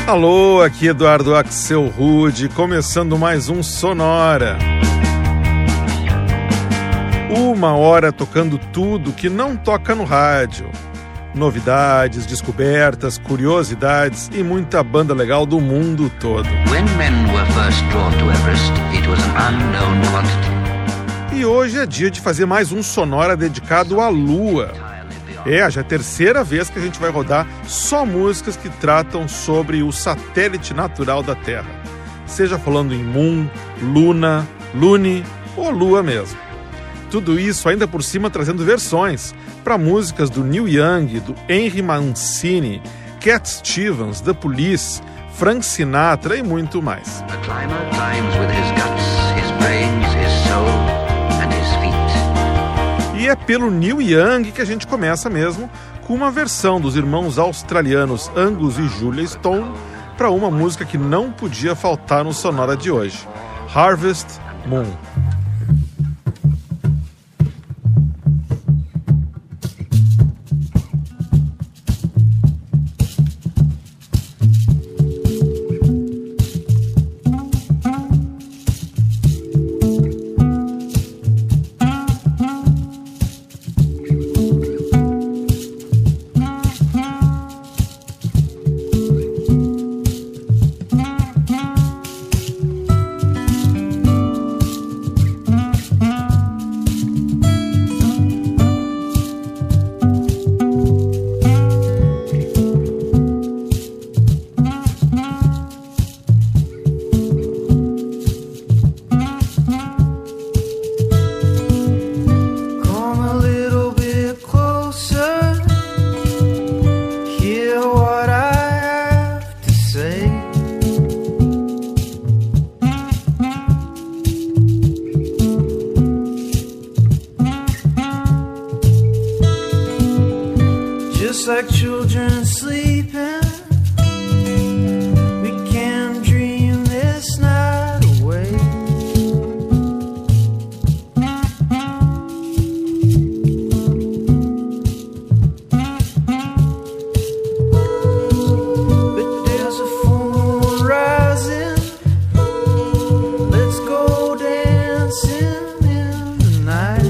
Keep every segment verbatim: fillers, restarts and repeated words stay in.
Alô, aqui Eduardo Axel Rude, começando mais um Sonora. Uma hora tocando tudo que não toca no rádio. Novidades, descobertas, curiosidades e muita banda legal do mundo todo. When men were first drawn to Everest, it was an unknown quantity. E hoje é dia de fazer mais um Sonora dedicado à Lua. É, já é a terceira vez que a gente vai rodar só músicas que tratam sobre o satélite natural da Terra. Seja falando em Moon, Luna, Lune ou Lua mesmo. Tudo isso ainda por cima trazendo versões para músicas do Neil Young, do Henry Mancini, Cat Stevens, The Police, Frank Sinatra e muito mais. A climber climbs with his guts, his brains, his soul and his feet. E é pelo Neil Young que a gente começa mesmo com uma versão dos irmãos australianos Angus e Julia Stone para uma música que não podia faltar no Sonora de hoje, Harvest Moon. Like children sleeping, we can dream this night away. But there's a full moon rising, let's go dancing in the night.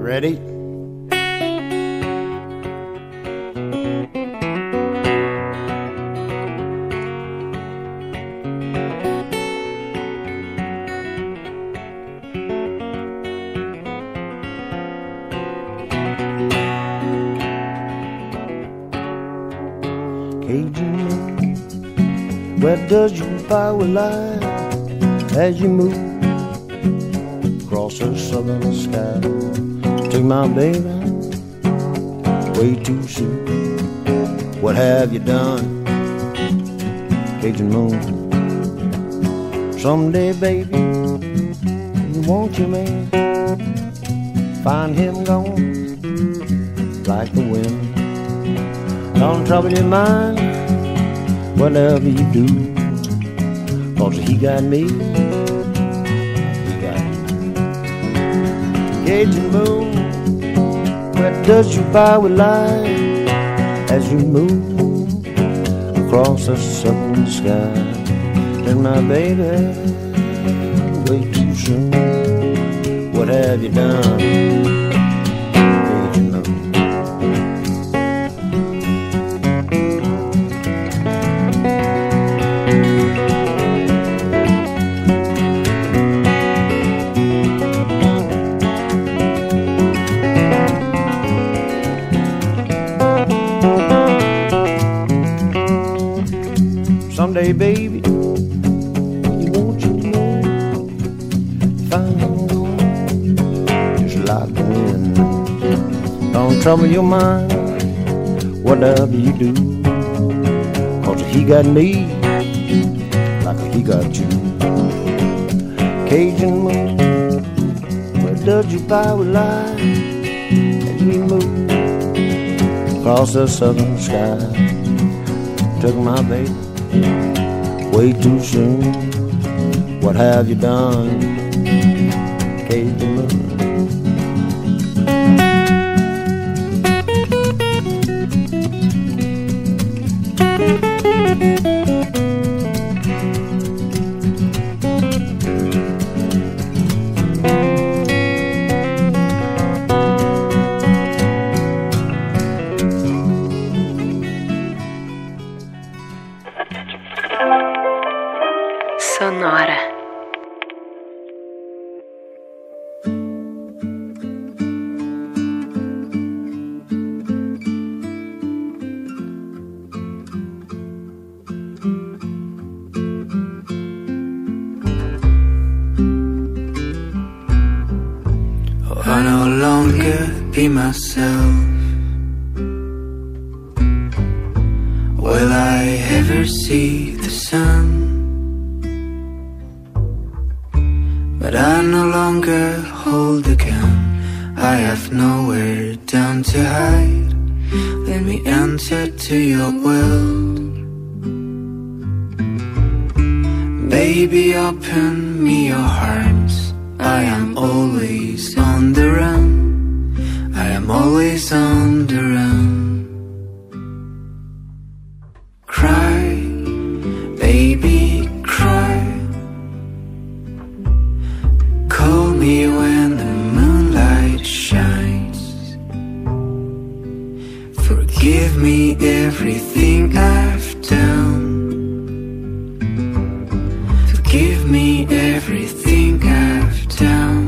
ready? Where does your power lie as you move across the southern sky? Take my baby way too soon. What have you done, Cajun moon? Someday, baby, you want your man, find him gone like the wind. Don't trouble your mind, whatever you do, 'cause he got me, he got you. Cajun moon, where does your power lie as you move across the southern sky? And my baby, way too soon, what have you done, Cajun moon? Someday, baby, you want you to know, find him gone, just like the wind. Don't trouble your mind, whatever you do, 'cause he got me, like he got you. Cajun moon, where does your power lie as we move across the southern sky? Took my baby way too soon. What have you done, Cajun moon? Sonora. Oh, I no longer be myself. Will I ever see the sun? But I no longer hold a gun. I have nowhere down to hide. Let me enter to your world. Baby, open me your heart. I am always on the run. I am always on the run. Cry, baby, cry. Call me when the moonlight shines. Forgive me everything I've done. Forgive me everything I've done.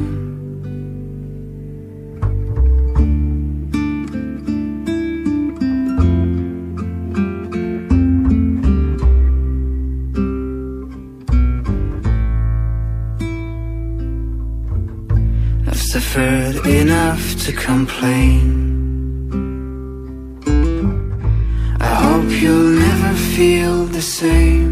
Suffered enough to complain. I hope you'll never feel the same.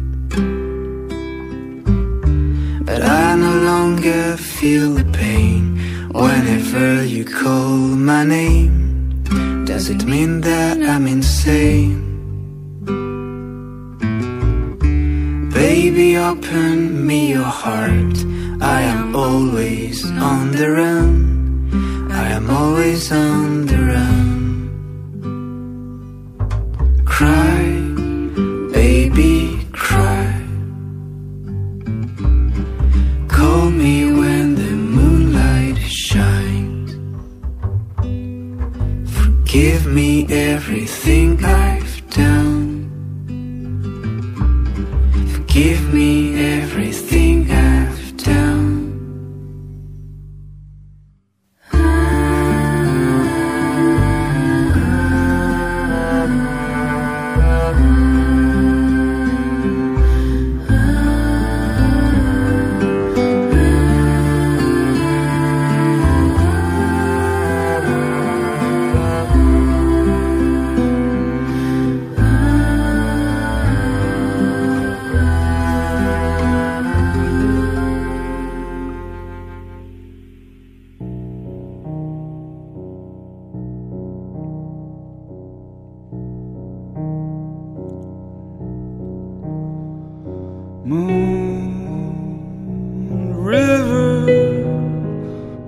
But I no longer feel the pain whenever you call my name. Does it mean that I'm insane? Baby, open me your heart. I am always on the run. I am always on the run. Cry, baby, cry. Call me when the moonlight shines.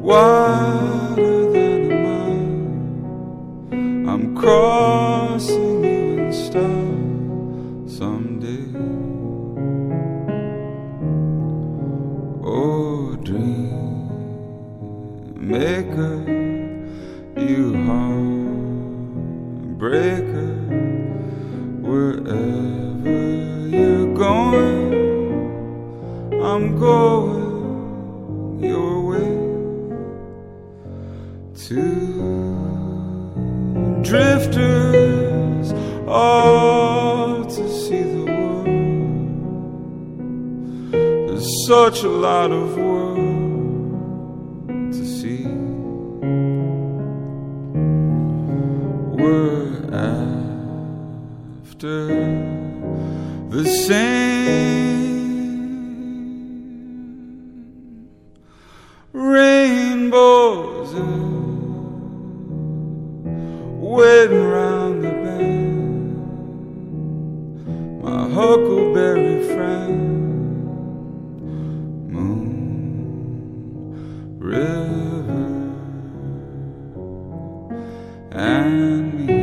wider than a mile. I'm crossing you in style someday. Oh, dream maker, you heartbreaker, wherever you're going, I'm going your way. Two drifters all to see the world. There's such a lot of world to see. We're after the same rainbows and waiting round the bend. My huckleberry friend, moon, river, and me.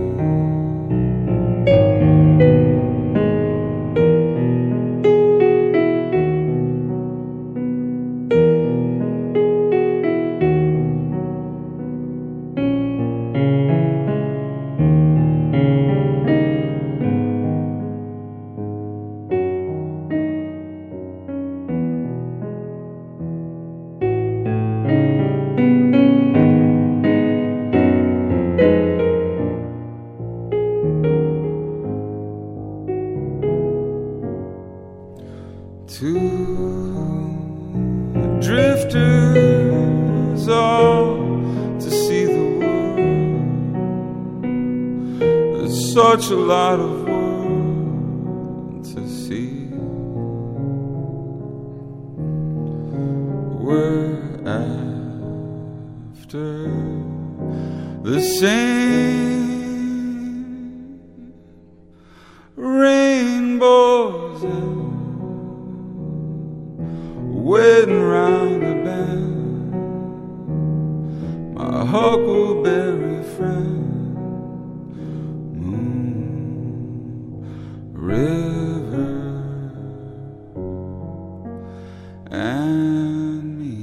Drifters all to see the world. There's such a lot of world to see. We're after the same rainbows and waiting round the bend. My huckleberry friend, moon, river, and me.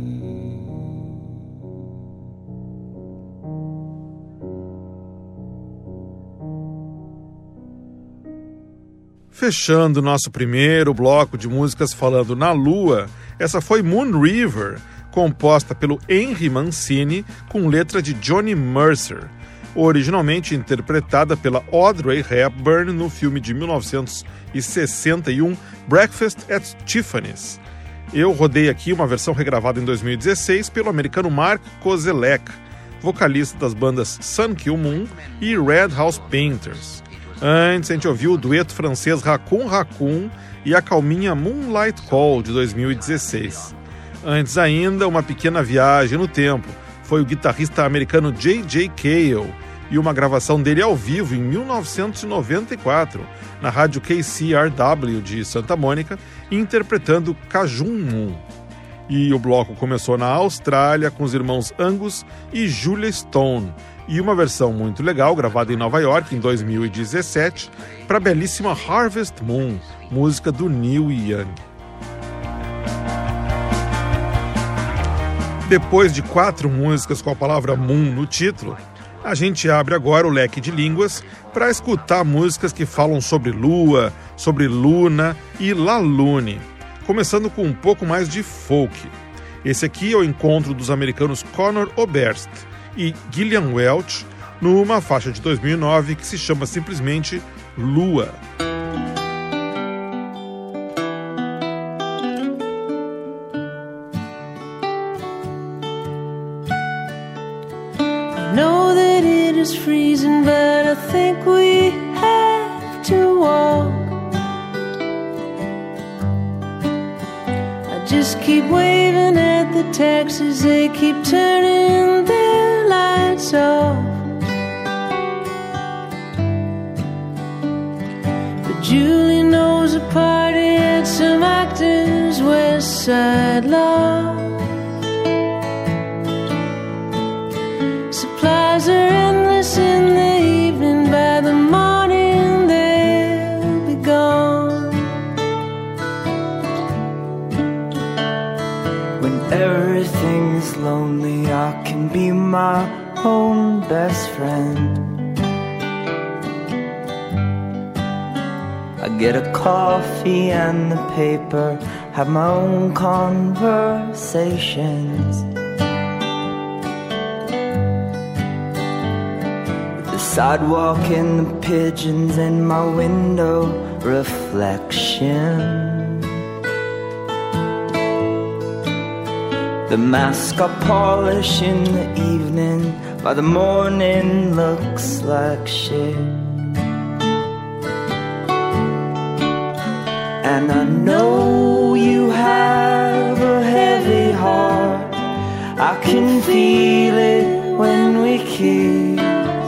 Fechando nosso primeiro bloco de músicas falando na Lua, essa foi Moon River, composta pelo Henry Mancini com letra de Johnny Mercer, originalmente interpretada pela Audrey Hepburn no filme de mil novecentos e sessenta e um Breakfast at Tiffany's. Eu rodei aqui uma versão regravada em dois mil e dezesseis pelo americano Mark Kozelek, vocalista das bandas Sun Kill Moon e Red House Painters. Antes a gente ouviu o dueto francês Raccoon Raccoon e a calminha Moonlight Call de dois mil e dezesseis. Antes ainda, uma pequena viagem no tempo, foi o guitarrista americano J J Cale e uma gravação dele ao vivo em mil novecentos e noventa e quatro, na rádio K C R W de Santa Mônica, interpretando Cajun Moon. E o bloco começou na Austrália com os irmãos Angus e Julia Stone, e uma versão muito legal gravada em Nova York em dois mil e dezessete para a belíssima Harvest Moon, música do Neil Young. Depois de quatro músicas com a palavra Moon no título, a gente abre agora o leque de línguas para escutar músicas que falam sobre lua, sobre luna e la lune, começando com um pouco mais de folk. Esse aqui é o encontro dos americanos Conor Oberst e Gillian Welch numa faixa de dois mil e nove que se chama simplesmente Lua. I know that it is freezing, but I think we have to walk. I just keep waving at the taxis, they keep turning their lights off. But Julie knows a party at some actors' West Side Loft. lonely, I can be my own best friend. I get a coffee and the paper, have my own conversations. The sidewalk and the pigeons in my window reflection. The mask I polish in the evening, by the morning looks like shit. And I know you have a heavy heart, I can feel it when we kiss.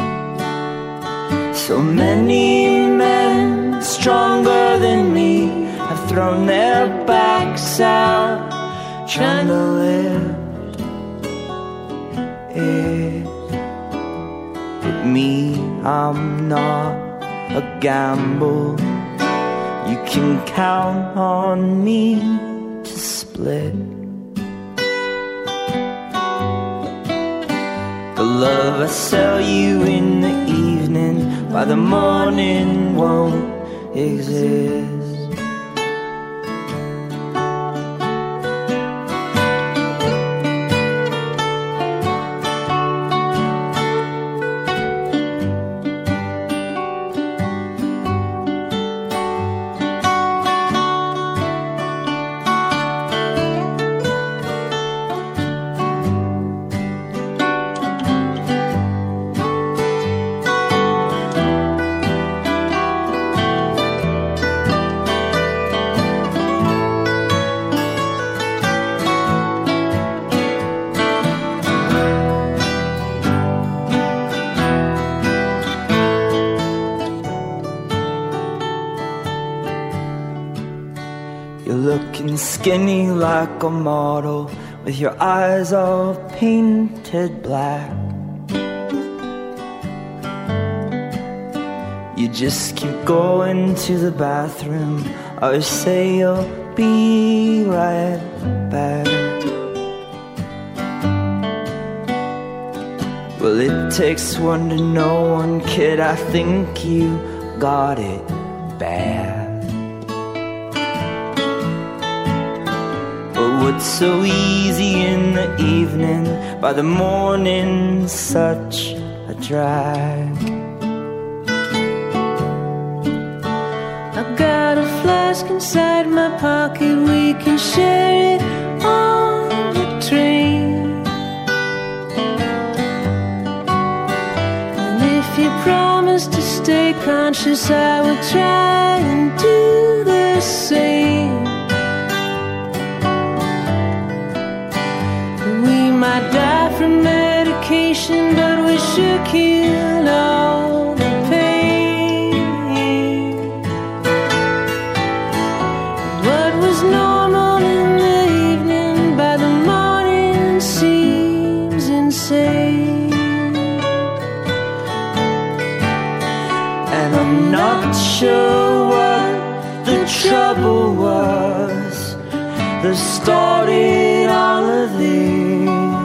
So many men stronger than me have thrown their backs out, trying to lift it. But me, I'm not a gamble. You can count on me to split. The love I sell you in the evening, by the morning won't exist. Skinny like a model, with your eyes all painted black. You just keep going to the bathroom, or say you'll be right back. Well, it takes one to know one, kid, I think you got it bad. What's so easy in the evening, by the morning such a drag. I've got a flask inside my pocket, we can share it on the train. And if you promise to stay conscious, I will try and do the same. Might die from medication, but we should kill all the pain. What was normal in the evening, by the morning seems insane. And I'm not sure what the trouble was that started all of this.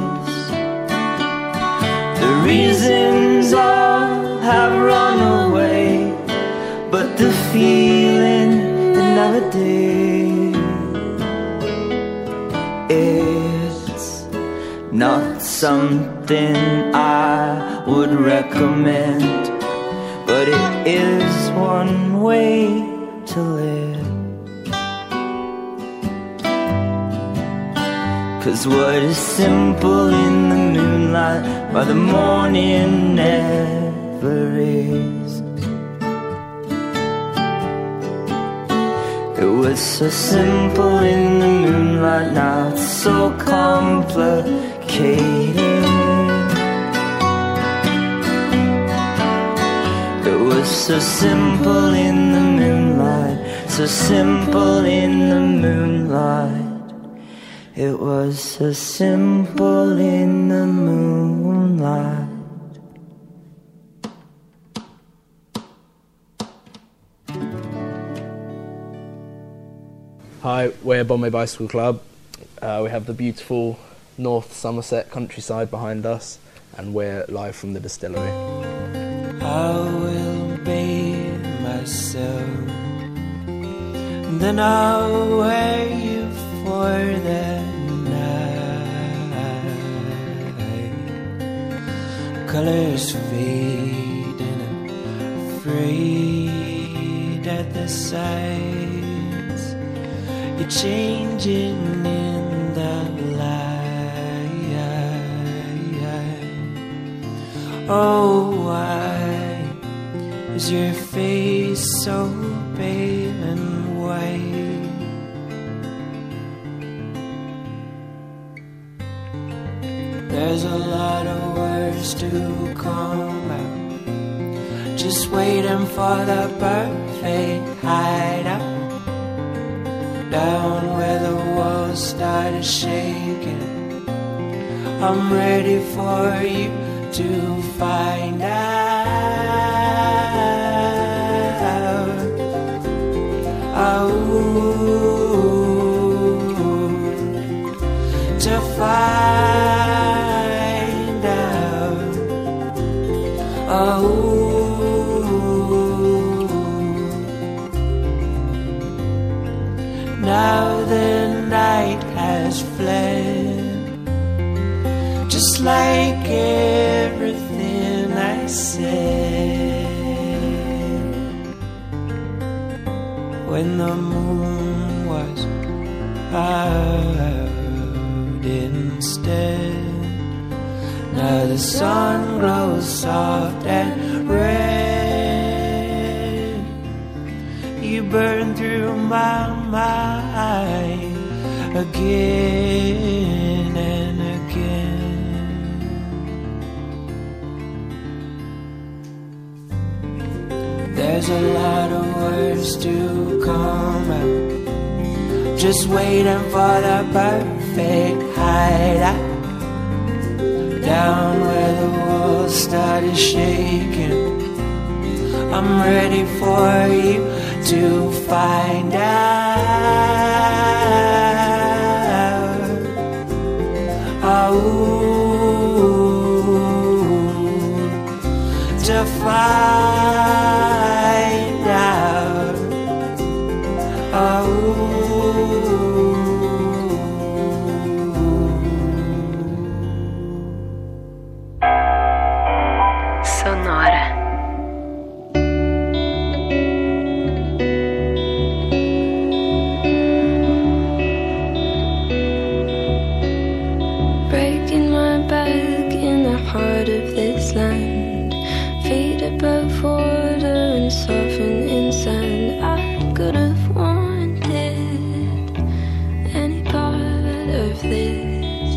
Reasons all have run away, but the feeling it never did. It's not something I would recommend, but it is one way to live. 'Cause what is simple in the moonlight, by the morning never is. It was so simple in the moonlight, now it's so complicated. It was so simple in the moonlight, so simple in the moonlight. It was so simple in the moonlight. Hi, we're Bombay Bicycle Club. Uh, we have the beautiful North Somerset countryside behind us, and we're live from the distillery. I will bathe myself, then I'll wear you for the night. Colors fade and I'm afraid at the sights. You're changing in the light. Oh, why is your face so pale and white? There's a lot of words to come out, just waiting for the perfect hideout. Down where the walls started shaking, I'm ready for you to find out. Oh, to find out. Oh, now the night has fled, just like everything I said. When the moon was out instead, now the sun grows soft and red. You burn through my mind again and again. There's a lot of words to come out, just waiting for the perfect hideout. Down where the walls started shaking, I'm ready for you to find out. Oh, to find out. Oh, Sonora. Breaking my back in the heart of this land, feet above water and soften in sand. I could have wanted any part of this.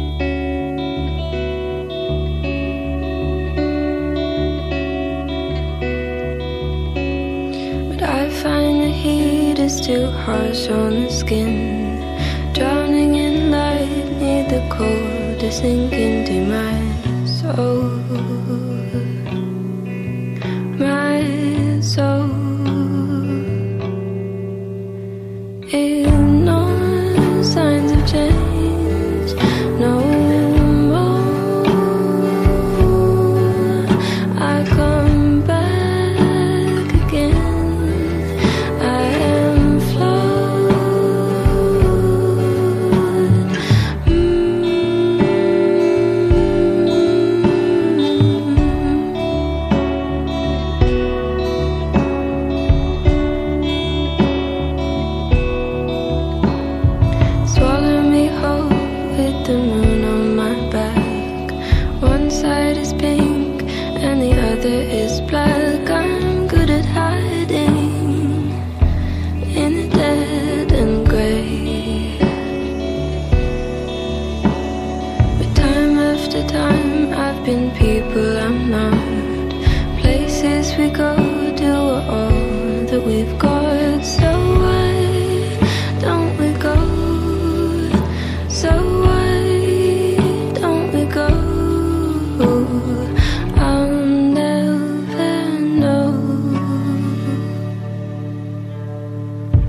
But I find the heat is too harsh on the skin, drowning in light, need the cold to sink into my soul, my soul. Ignore signs of change, no more. I come back again, I am flawed. Swallow me whole with the moon on my back. One side is pink and the other is black. I'm good at hiding in the dead and grey, but time after time I've been people I'm not. Places we go do all that we've got. So why don't we go? So why don't we go? I'll never know.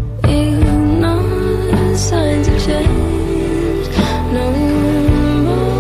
Ignore signs of change, no more.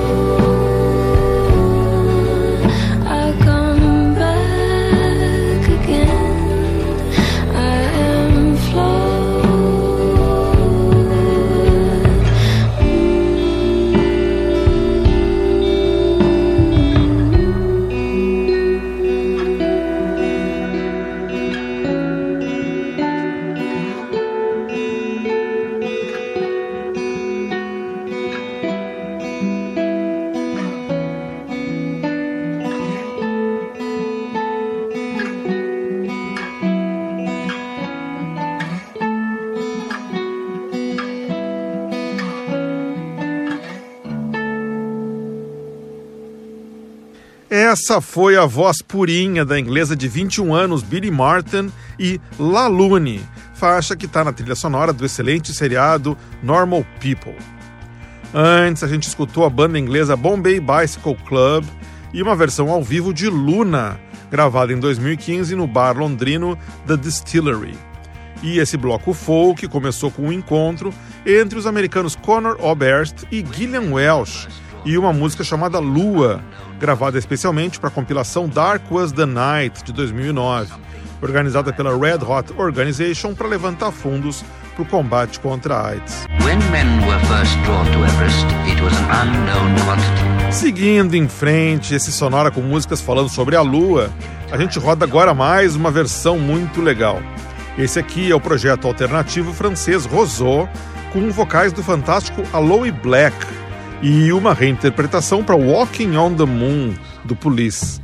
Essa foi a voz purinha da inglesa de vinte e um anos, Billie Martin, e La Lune, faixa que está na trilha sonora do excelente seriado Normal People. Antes, a gente escutou a banda inglesa Bombay Bicycle Club e uma versão ao vivo de Luna, gravada em dois mil e quinze no bar londrino The Distillery. E esse bloco folk começou com um encontro entre os americanos Conor Oberst e Gillian Welch, e uma música chamada Lua, gravada especialmente para a compilação Dark Was the Night, de dois mil e nove, organizada pela Red Hot Organization para levantar fundos para o combate contra a AIDS. When men were first drawn to Everest, it was an unknown quantity. Seguindo em frente, esse Sonora com músicas falando sobre a Lua, a gente roda agora mais uma versão muito legal. Esse aqui é o projeto alternativo francês Roseau, com vocais do fantástico Aloe Black, e uma reinterpretação para Walking on the Moon, do Police.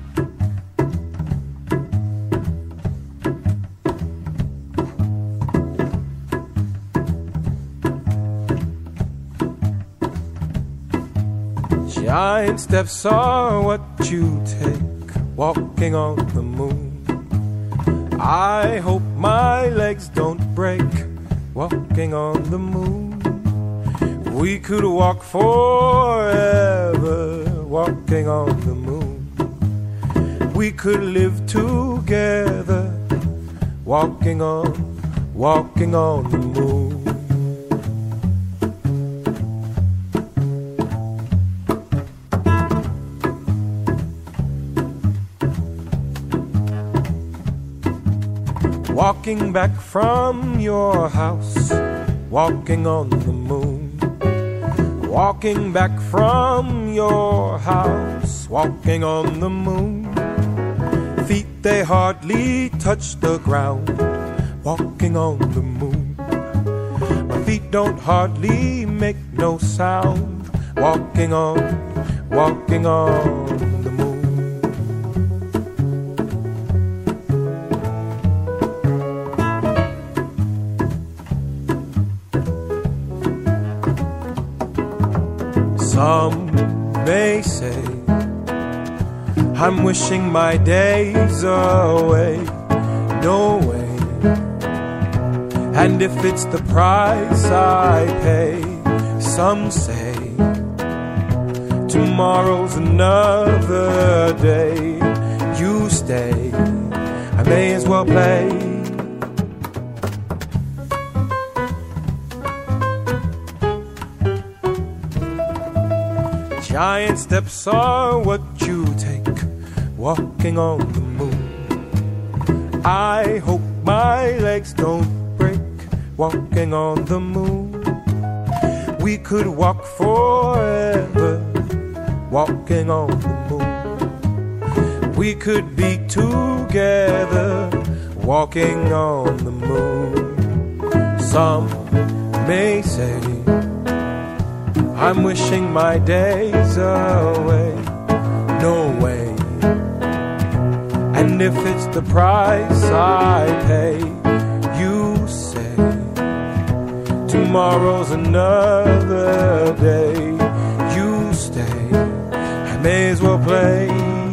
Giant steps are what you take, walking on the moon. I hope my legs don't break, walking on the moon. We could walk forever, walking on the moon. We could live together, walking on, walking on the moon. Walking back from your house, walking on the moon. Walking back from your house, walking on the moon. Feet they hardly touch the ground, walking on the moon. My feet don't hardly make no sound, walking on, walking on the moon. Some may say I'm wishing my days away. No way. And if it's the price I pay, some say tomorrow's another day. You stay, I may as well play. Giant steps are what you take, walking on the moon. I hope my legs don't break, walking on the moon. We could walk forever, walking on the moon. We could be together, walking on the moon. Some may say I'm wishing my days away. No way. And if it's the price I pay, you say tomorrow's another day. You stay, I may as well play.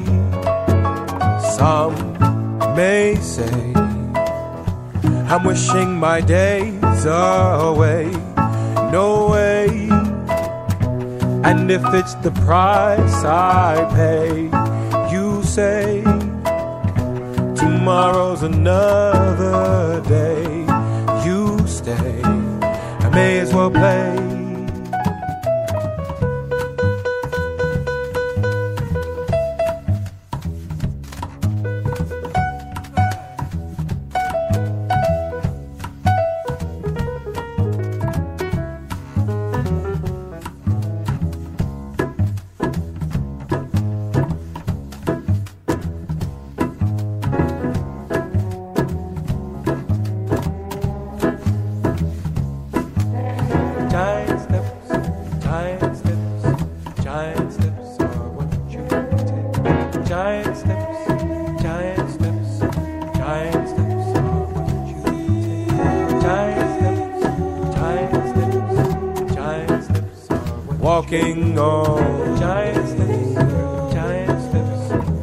Some may say I'm wishing my days away. No way. And if it's the price I pay, you say tomorrow's another day. You stay, I may as well play. Walking on giant steps, giant steps,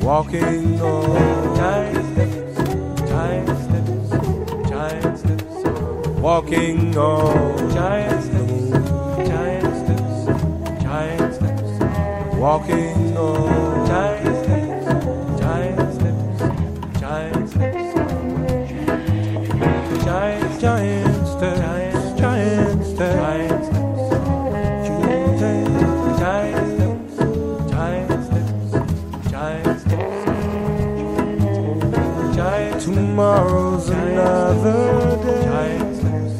walking on giant steps, giant steps, giant steps, walking on giant steps, giant steps, giant steps, walking on giant steps, giant steps, giant steps, giant, giant steps, giant steps, giant steps, giant steps, giant steps, giant steps, giant. Tomorrow's another day. Giant steps,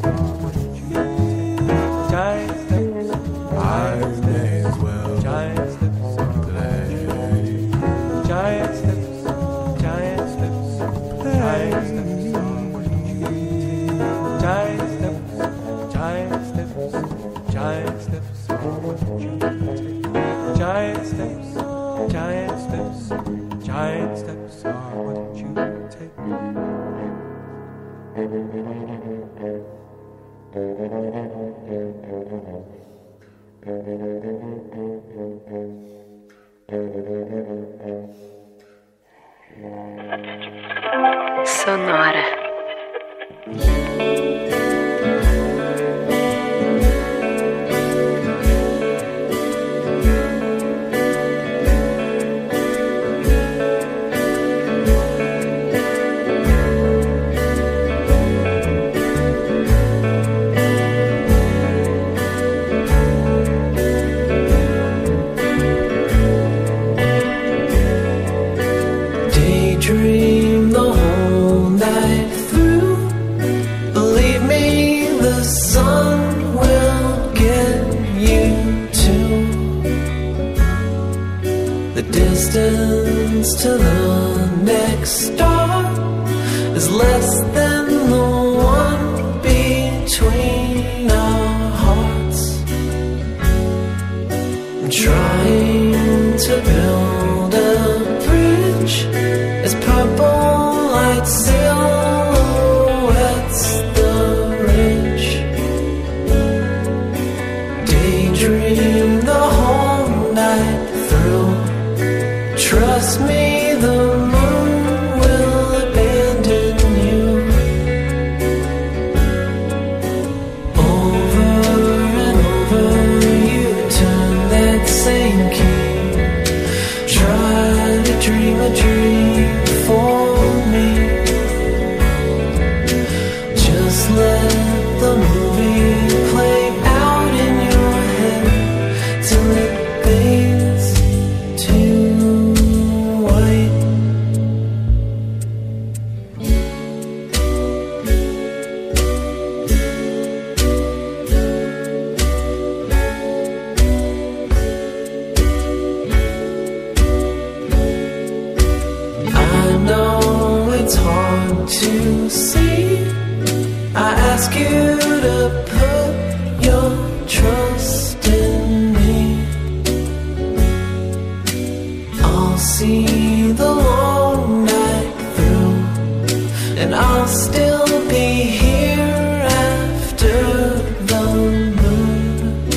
giant steps. I may as well. Giant steps, play. Giant steps, giant steps, giant steps, giant steps, giant steps, giant steps, giant steps, giant steps, giant steps are what you take. Sonora. Daydream the whole night through. Believe me, the sun will get you too. The distance to the next star is less than the one between our hearts. I'm trying to build a bridge as purple light silhouettes the ridge. Daydream the whole night through. Trust me, the moon will abandon you. Over and over you turn that same key. Try to dream a dream for me. Just let the movie play out in your head till it fades to white. I know it's hard to see. I ask you to put your trust in me. I'll see the long night through, and I'll still be here after the moon.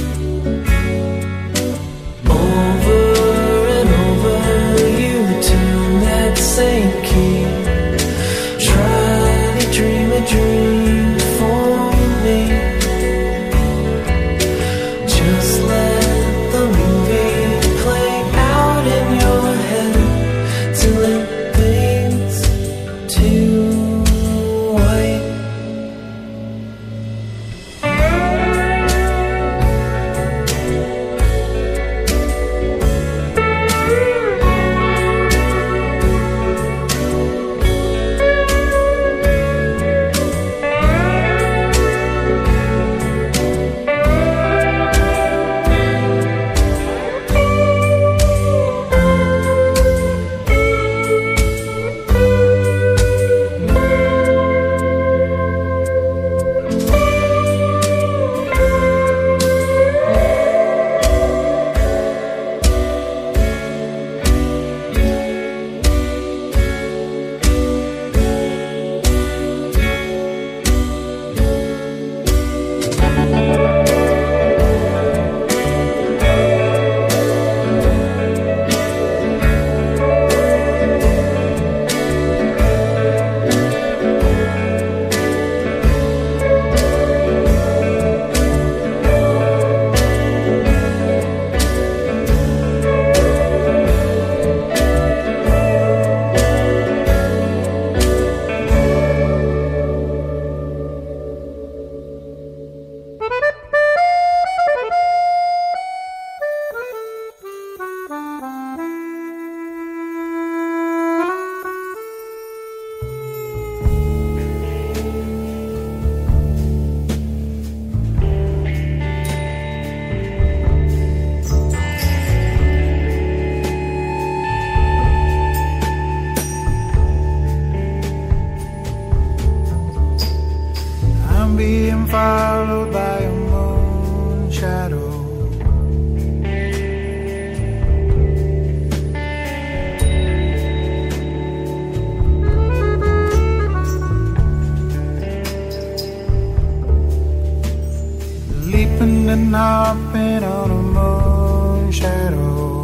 Over and over you turn that same key. Try to dream a dream for me. Just let the movie play out in your head shadow.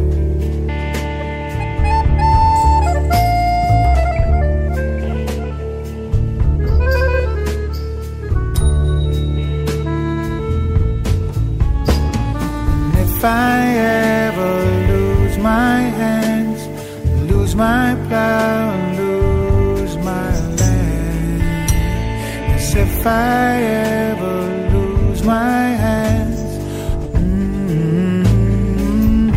If I ever lose my hands, lose my plow, lose my land. Yes, if I ever lose my hands, mm-hmm,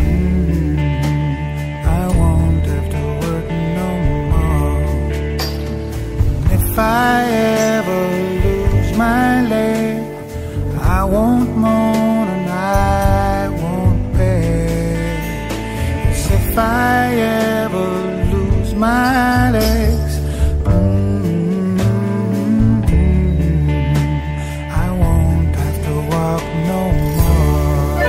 I won't have to work no more. And if I ever lose my leg, I won't moan and I won't beg. Yes, if I ever lose my legs, mm-hmm, I won't have to walk no more.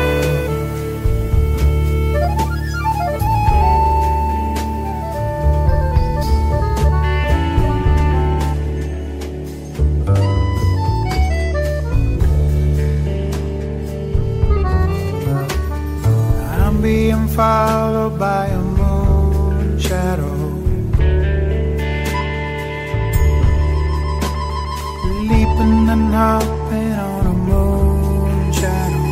I'm being followed by a moon shadow, leaping and hopping on a moon shadow.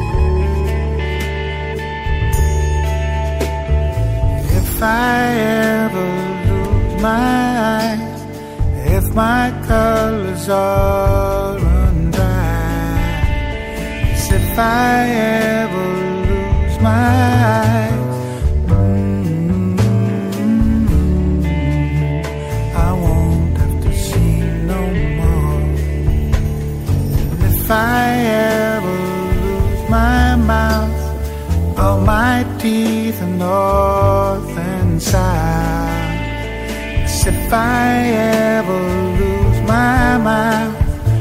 If I ever lose my eyes, if my colors all run dry, yes, if I ever lose my eyes, mm-hmm, I won't have to see no more. And if I ever lose my mouth, all my teeth and north and south, yes, if I ever lose my mouth,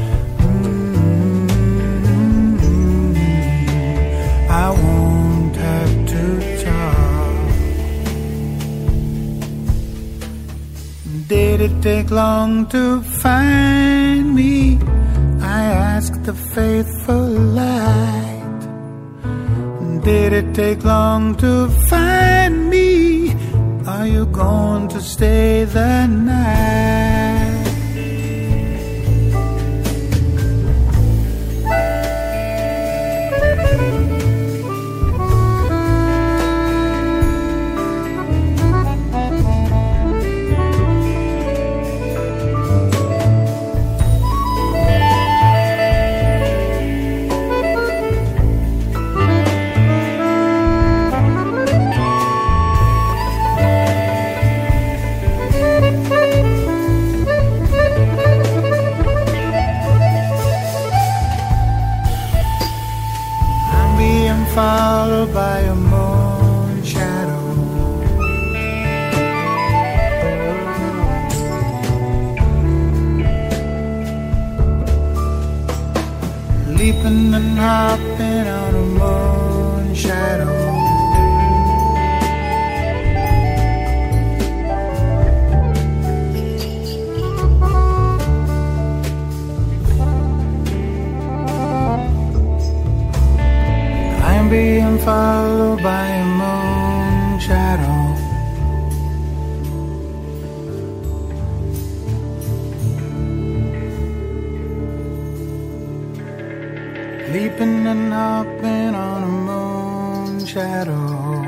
I won't have to talk. Did it take long to find me? I asked the faithful light. Did it take long to find me? Are you going to stay the night? Followed by a moon shadow, leaping and hopping on a moon shadow. Being followed by a moon shadow. Leaping and hopping on a moon shadow.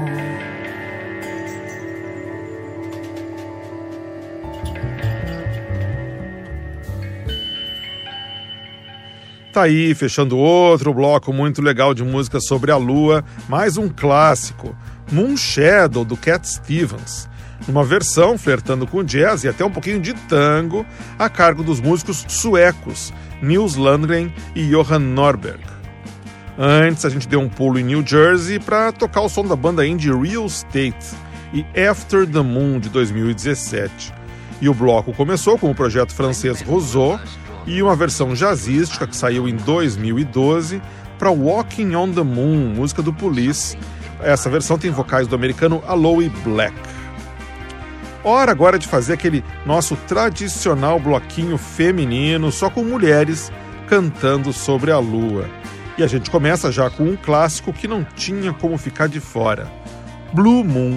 Tá aí, fechando outro bloco muito legal de música sobre a lua, mais um clássico, Moon Shadow, do Cat Stevens, numa versão flertando com jazz e até um pouquinho de tango, a cargo dos músicos suecos Nils Landgren e Johan Norberg. Antes a gente deu um pulo em New Jersey para tocar o som da banda indie Real Estate e After the Moon, de dois mil e dezessete. E o bloco começou com o projeto francês Roseau, e uma versão jazzística que saiu em dois mil e doze para Walking on the Moon, música do Police. Essa versão tem vocais do americano Aloe Black. Hora agora de fazer aquele nosso tradicional bloquinho feminino, só com mulheres cantando sobre a lua. E a gente começa já com um clássico que não tinha como ficar de fora. Blue Moon.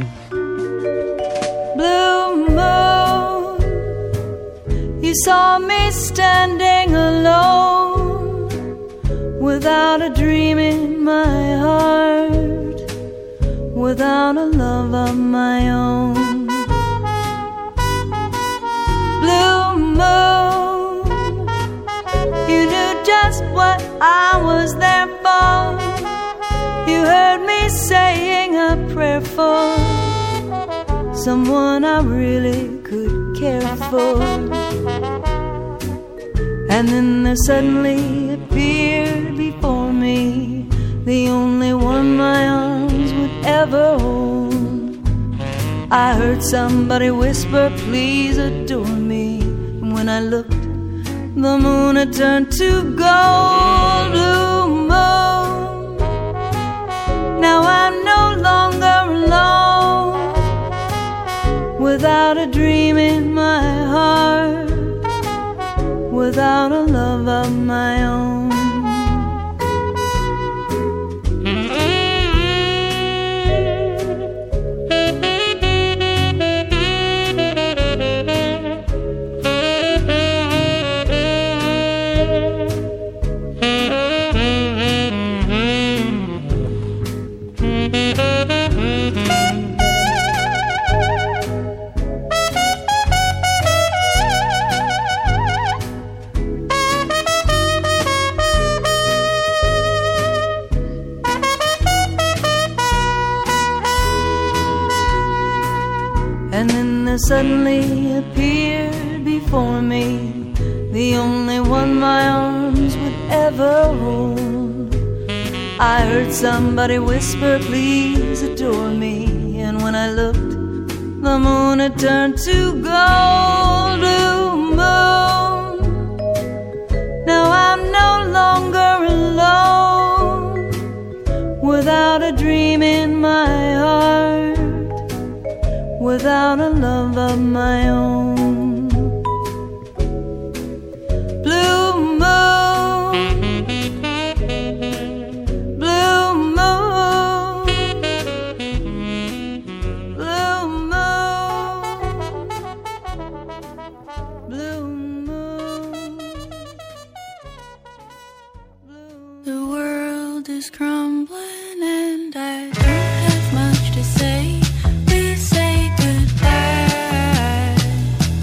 Blue moon, you saw me standing alone, without a dream in my heart, without a love of my own. Blue moon, you knew just what I was there for. You heard me saying a prayer for someone I really could care for. And then there suddenly appeared before me the only one my arms would ever hold. I heard somebody whisper, please adore me. And when I looked, the moon had turned to gold. Blue moon, now I'm no longer alone, without a dream in my heart, without a love of my own. Suddenly appeared before me the only one my arms would ever hold. I heard somebody whisper, please adore me. And when I looked, the moon had turned to gold. Blue moon, now I'm no longer alone, without a dream in my heart, without a love of my own. Blue moon, blue moon, blue moon, blue moon. The world is crumbling and I don't have much to say.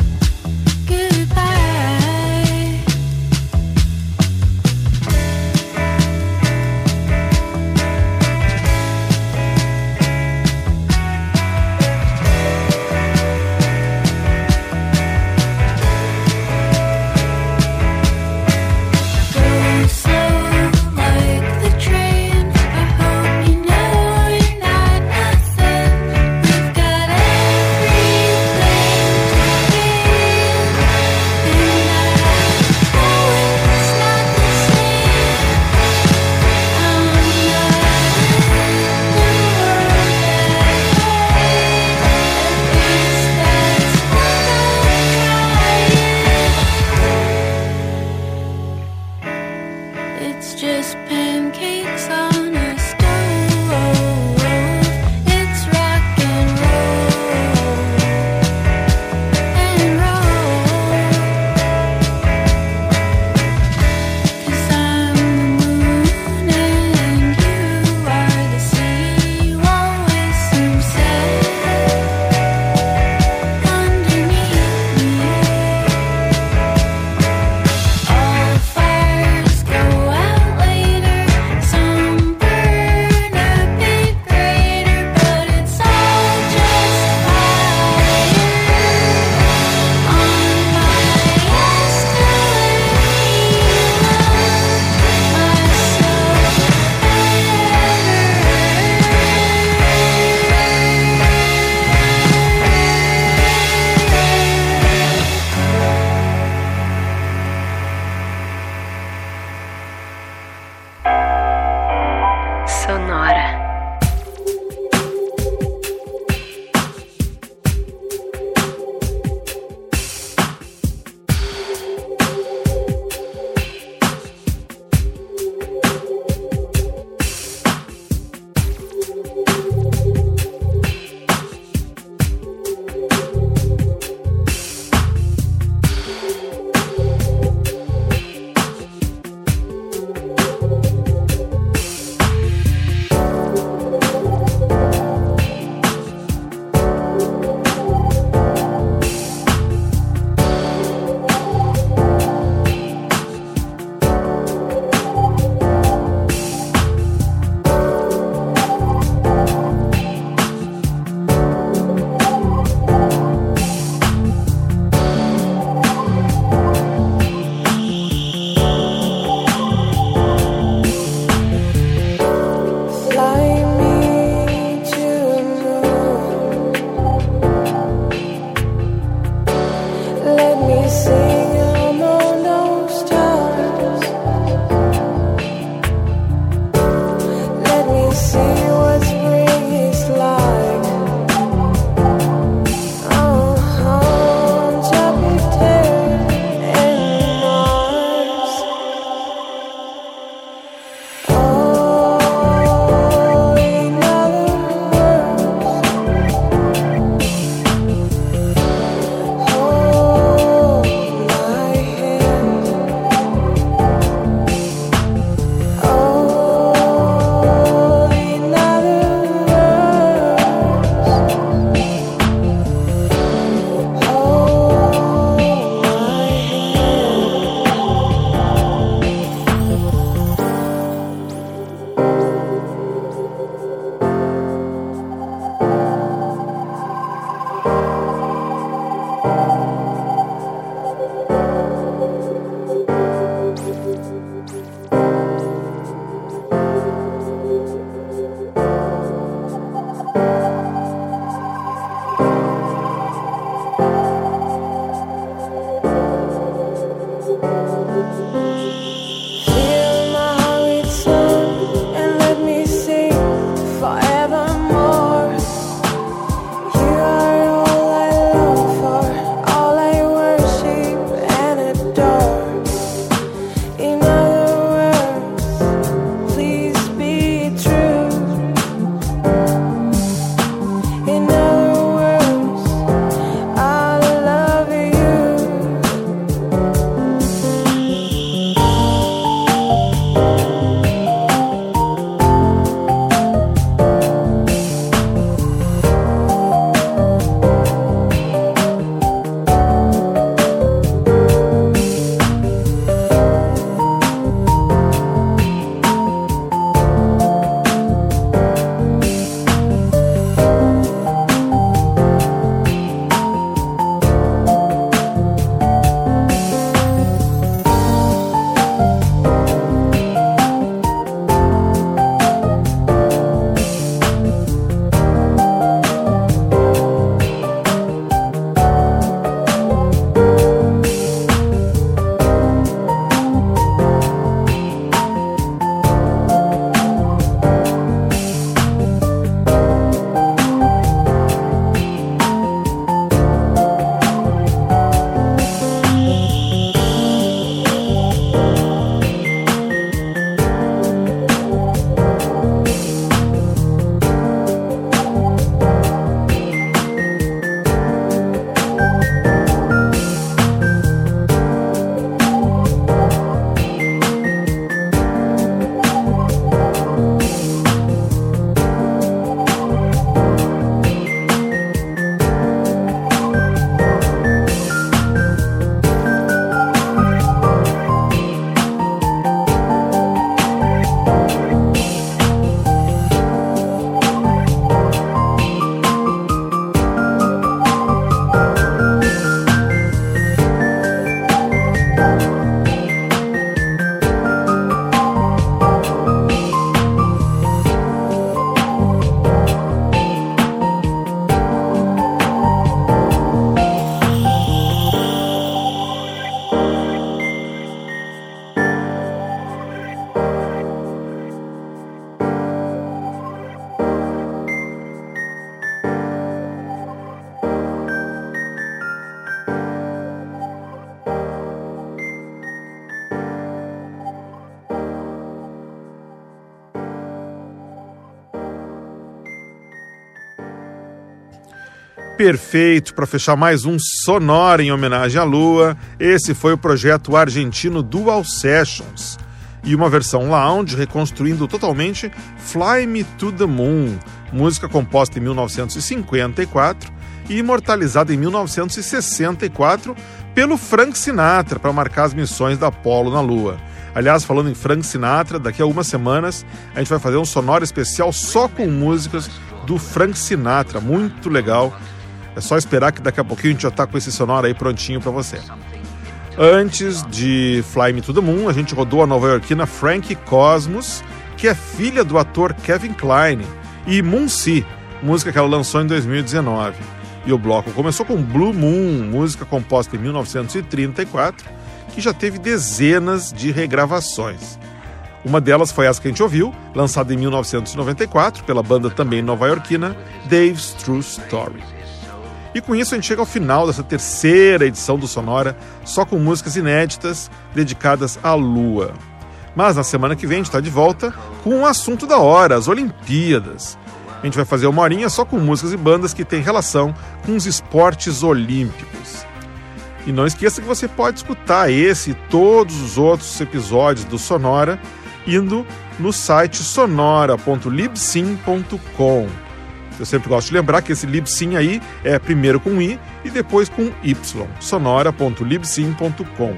Perfeito para fechar mais um Sonora em homenagem à Lua. Esse foi o projeto argentino Dual Sessions e uma versão lounge reconstruindo totalmente Fly Me to the Moon, música composta em mil novecentos e cinquenta e quatro e imortalizada em mil novecentos e sessenta e quatro pelo Frank Sinatra para marcar as missões da Apollo na Lua. Aliás, falando em Frank Sinatra, daqui a algumas semanas a gente vai fazer um Sonora especial só com músicas do Frank Sinatra, muito legal. É só esperar que daqui a pouquinho a gente já está com esse Sonora aí prontinho para você. Antes de Fly Me to the Moon, a gente rodou a nova-iorquina Frankie Cosmos, que é filha do ator Kevin Kline, e Moon-See, música que ela lançou em dois mil e dezenove. E o bloco começou com Blue Moon, música composta em mil novecentos e trinta e quatro, que já teve dezenas de regravações. Uma delas foi essa que a gente ouviu, lançada em mil novecentos e noventa e quatro pela banda também nova-iorquina Dave's True Story. E com isso a gente chega ao final dessa terceira edição do Sonora, só com músicas inéditas dedicadas à Lua. Mas na semana que vem a gente está de volta com um assunto da hora, as Olimpíadas. A gente vai fazer uma horinha só com músicas e bandas que têm relação com os esportes olímpicos. E não esqueça que você pode escutar esse e todos os outros episódios do Sonora indo no site sonora ponto libsyn ponto com. Eu sempre gosto de lembrar que esse Libsyn aí é primeiro com I e depois com Y, sonora ponto libsyn ponto com.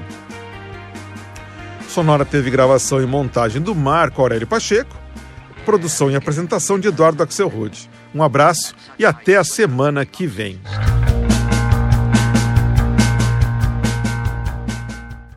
Sonora teve gravação e montagem do Marco Aurélio Pacheco, produção e apresentação de Eduardo Axelrod. Um abraço e até a semana que vem.